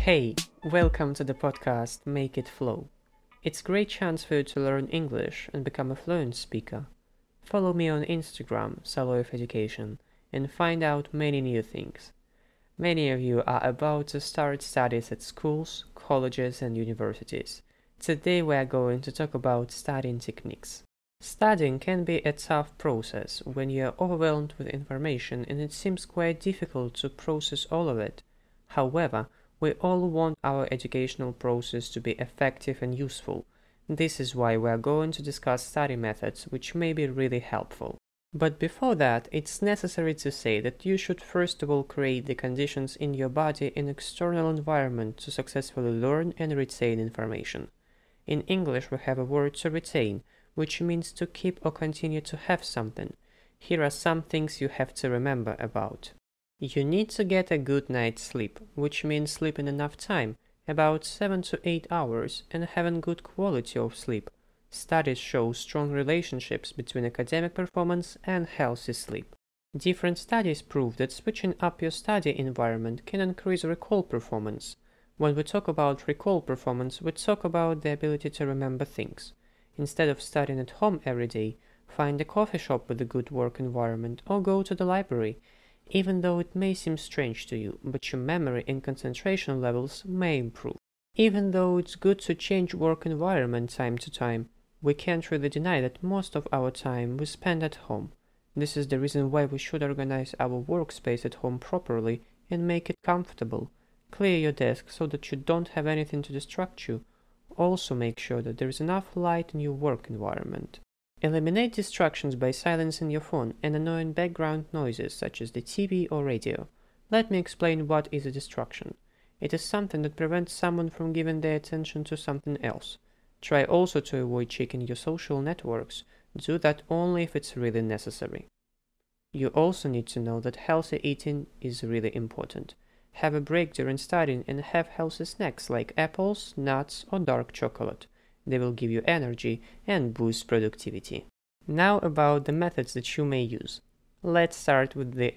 Hey, welcome to the podcast Make It Flow. It's a great chance for you to learn English and become a fluent speaker. Follow me on Instagram, Saloy of Education, and find out many new things. Many of you are about to start studies at schools, colleges, and universities. Today we are going to talk about studying techniques. Studying can be a tough process when you are overwhelmed with information and it seems quite difficult to process all of it. However, we all want our educational process to be effective and useful. This is why we are going to discuss study methods which may be really helpful. But before that, it's necessary to say that you should first of all create the conditions in your body and external environment to successfully learn and retain information. In English we have a word to retain, which means to keep or continue to have something. Here are some things you have to remember about. You need to get a good night's sleep, which means sleeping enough time, about 7 to 8 hours, and having good quality of sleep. Studies show strong relationships between academic performance and healthy sleep. Different studies prove that switching up your study environment can increase recall performance. When we talk about recall performance, we talk about the ability to remember things. Instead of studying at home every day, find a coffee shop with a good work environment or go to the library. Even though it may seem strange to you, but your memory and concentration levels may improve. Even though it's good to change work environment time to time, we can't really deny that most of our time we spend at home. This is the reason why we should organize our workspace at home properly and make it comfortable. Clear your desk so that you don't have anything to distract you. Also make sure that there is enough light in your work environment. Eliminate distractions by silencing your phone and annoying background noises such as the TV or radio. Let me explain what is a distraction. It is something that prevents someone from giving their attention to something else. Try also to avoid checking your social networks. Do that only if it's really necessary. You also need to know that healthy eating is really important. Have a break during studying and have healthy snacks like apples, nuts, or dark chocolate. They will give you energy and boost productivity. Now about the methods that you may use. Let's start with the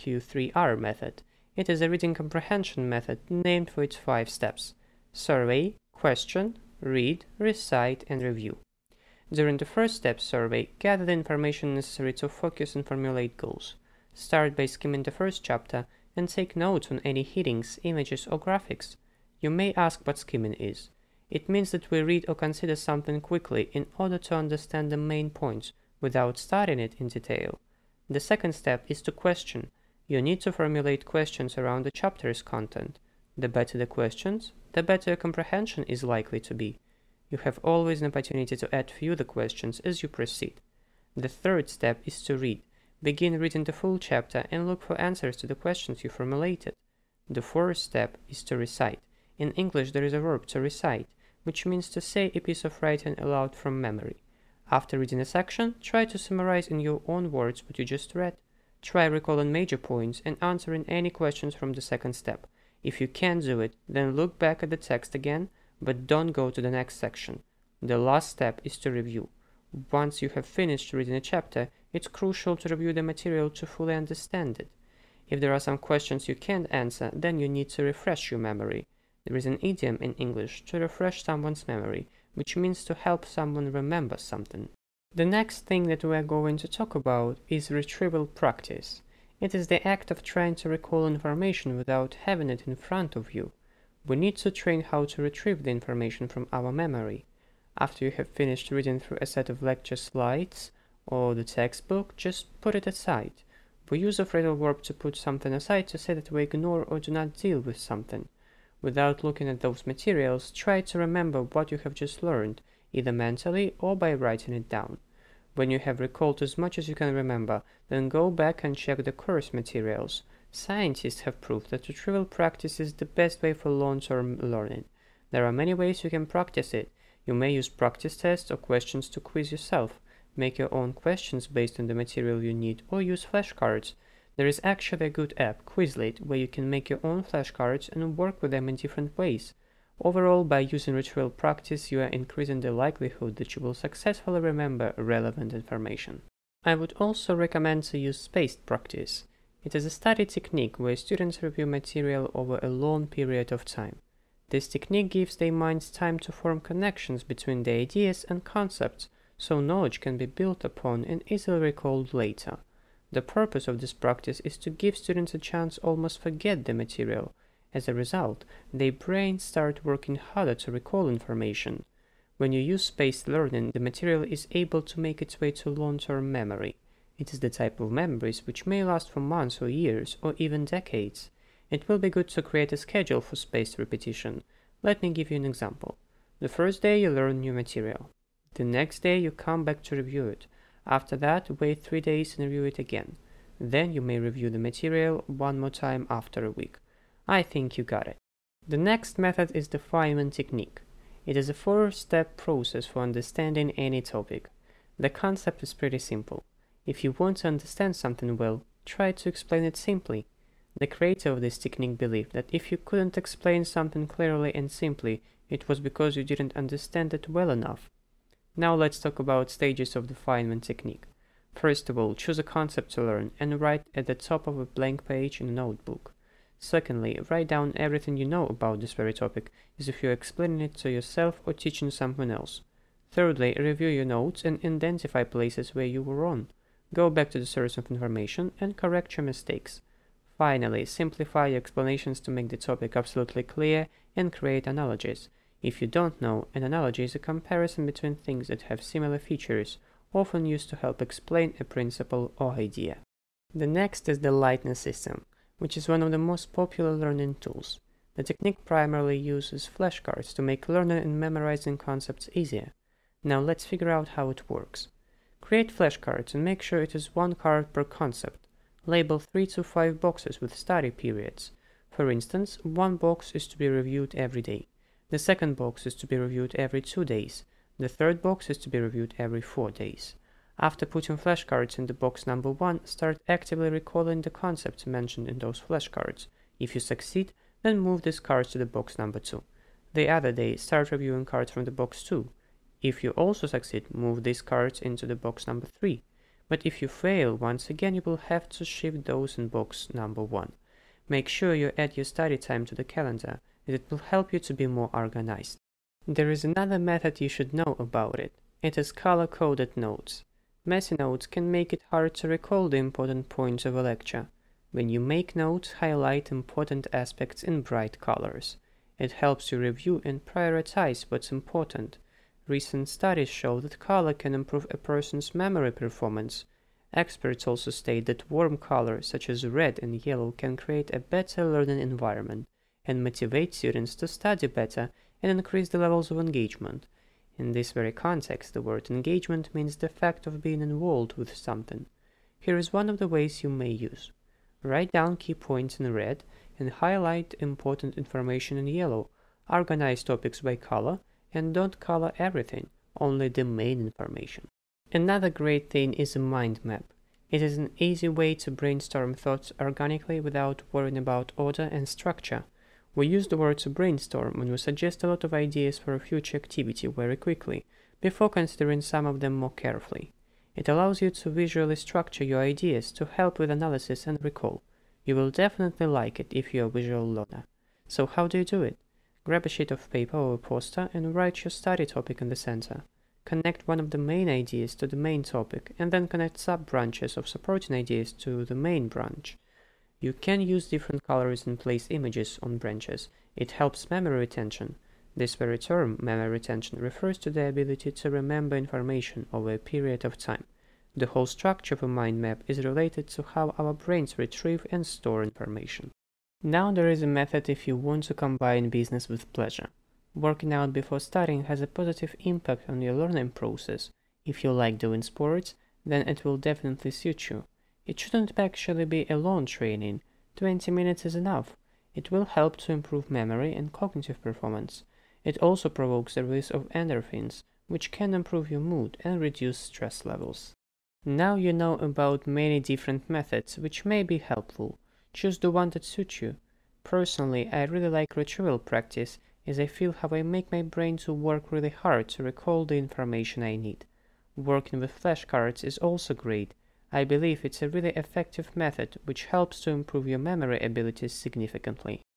SQ3R method. It is a reading comprehension method named for its 5 steps: survey, question, read, recite, and review. During the first step, survey, gather the information necessary to focus and formulate goals. Start by skimming the first chapter and take notes on any headings, images, or graphics. You may ask what skimming is. It means that we read or consider something quickly in order to understand the main points without studying it in detail. The second step is to question. You need to formulate questions around the chapter's content. The better the questions, the better your comprehension is likely to be. You have always an opportunity to add further questions as you proceed. The third step is to read. Begin reading the full chapter and look for answers to the questions you formulated. The fourth step is to recite. In English there is a verb to recite, which means to say a piece of writing aloud from memory. After reading a section, try to summarize in your own words what you just read. Try recalling major points and answering any questions from the second step. If you can't do it, then look back at the text again, but don't go to the next section. The last step is to review. Once you have finished reading a chapter, it's crucial to review the material to fully understand it. If there are some questions you can't answer, then you need to refresh your memory. There is an idiom in English to refresh someone's memory, which means to help someone remember something. The next thing that we are going to talk about is retrieval practice. It is the act of trying to recall information without having it in front of you. We need to train how to retrieve the information from our memory. After you have finished reading through a set of lecture slides or the textbook, just put it aside. We use a phrasal verb to put something aside to say that we ignore or do not deal with something. Without looking at those materials, try to remember what you have just learned, either mentally or by writing it down. When you have recalled as much as you can remember, then go back and check the course materials. Scientists have proved that retrieval practice is the best way for long-term learning. There are many ways you can practice it. You may use practice tests or questions to quiz yourself. Make your own questions based on the material you need, or use flashcards. There is actually a good app, Quizlet, where you can make your own flashcards and work with them in different ways. Overall, by using retrieval practice, you are increasing the likelihood that you will successfully remember relevant information. I would also recommend to use spaced practice. It is a study technique where students review material over a long period of time. This technique gives the mind time to form connections between the ideas and concepts, so knowledge can be built upon and easily recalled later. The purpose of this practice is to give students a chance to almost forget the material. As a result, their brains start working harder to recall information. When you use spaced learning, the material is able to make its way to long-term memory. It is the type of memories which may last for months or years or even decades. It will be good to create a schedule for spaced repetition. Let me give you an example. The first day you learn new material. The next day you come back to review it. After that, wait 3 days and review it again. Then you may review the material one more time after a week. I think you got it. The next method is the Feynman technique. It is a 4-step process for understanding any topic. The concept is pretty simple. If you want to understand something well, try to explain it simply. The creator of this technique believed that if you couldn't explain something clearly and simply, it was because you didn't understand it well enough. Now let's talk about stages of the Feynman technique. First of all, choose a concept to learn and write at the top of a blank page in a notebook. Secondly, write down everything you know about this very topic, as if you're explaining it to yourself or teaching someone else. Thirdly, review your notes and identify places where you were wrong. Go back to the source of information and correct your mistakes. Finally, simplify your explanations to make the topic absolutely clear and create analogies. If you don't know, an analogy is a comparison between things that have similar features, often used to help explain a principle or idea. The next is the Lightning system, which is one of the most popular learning tools. The technique primarily uses flashcards to make learning and memorizing concepts easier. Now let's figure out how it works. Create flashcards and make sure it is 1 card per concept. Label 3 to 5 boxes with study periods. For instance, 1 box is to be reviewed every day. The second box is to be reviewed every 2 days. The third box is to be reviewed every 4 days. After putting flashcards into box number 1, start actively recalling the concepts mentioned in those flashcards. If you succeed, then move these cards to the box number 2. The other day, start reviewing cards from the box 2. If you also succeed, move these cards into the box number 3. But if you fail, once again you will have to shift those in box number 1. Make sure you add your study time to the calendar, as it will help you to be more organized. There is another method you should know about it. It is color-coded notes. Messy notes can make it hard to recall the important points of a lecture. When you make notes, highlight important aspects in bright colors. It helps you review and prioritize what's important. Recent studies show that color can improve a person's memory performance. Experts also state that warm colors such as red and yellow can create a better learning environment and motivate students to study better and increase the levels of engagement. In this very context, the word engagement means the fact of being involved with something. Here is one of the ways you may use. Write down key points in red and highlight important information in yellow. Organize topics by color and don't color everything, only the main information. Another great thing is a mind map. It is an easy way to brainstorm thoughts organically without worrying about order and structure. We use the word to brainstorm when we suggest a lot of ideas for a future activity very quickly, before considering some of them more carefully. It allows you to visually structure your ideas to help with analysis and recall. You will definitely like it if you're a visual learner. So how do you do it? Grab a sheet of paper or a poster and write your study topic in the center. Connect one of the main ideas to the main topic, and then connect sub-branches of supporting ideas to the main branch. You can use different colors and place images on branches. It helps memory retention. This very term, memory retention, refers to the ability to remember information over a period of time. The whole structure of a mind map is related to how our brains retrieve and store information. Now there is a method if you want to combine business with pleasure. Working out before studying has a positive impact on your learning process. If you like doing sports, then it will definitely suit you. It shouldn't actually be a long training. 20 minutes is enough. It will help to improve memory and cognitive performance. It also provokes the release of endorphins, which can improve your mood and reduce stress levels. Now you know about many different methods which may be helpful. Choose the one that suits you. Personally, I really like retrieval practice, as I feel how I make my brain to work really hard to recall the information I need. Working with flashcards is also great. I believe it's a really effective method which helps to improve your memory abilities significantly.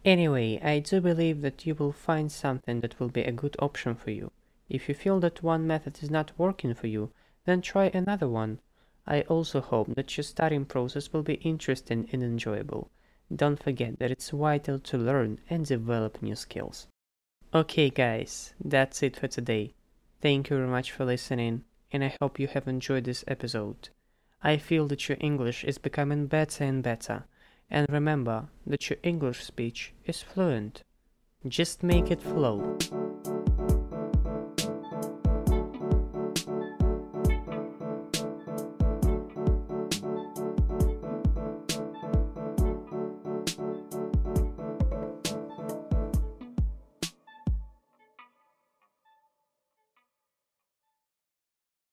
Anyway, I do believe that you will find something that will be a good option for you. If you feel that one method is not working for you, then try another one. I also hope that your studying process will be interesting and enjoyable. Don't forget that it's vital to learn and develop new skills. Okay guys, that's it for today. Thank you very much for listening, and I hope you have enjoyed this episode. I feel that your English is becoming better and better, and remember that your English speech is fluent. Just make it flow.